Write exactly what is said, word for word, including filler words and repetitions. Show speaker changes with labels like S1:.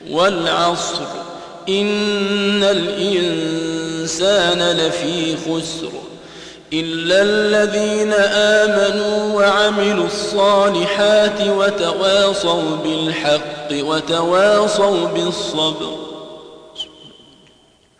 S1: والعصر إن الإنسان لفي خسر إلا الذين آمنوا وعملوا الصالحات وتواصوا بالحق وتواصوا بالصبر.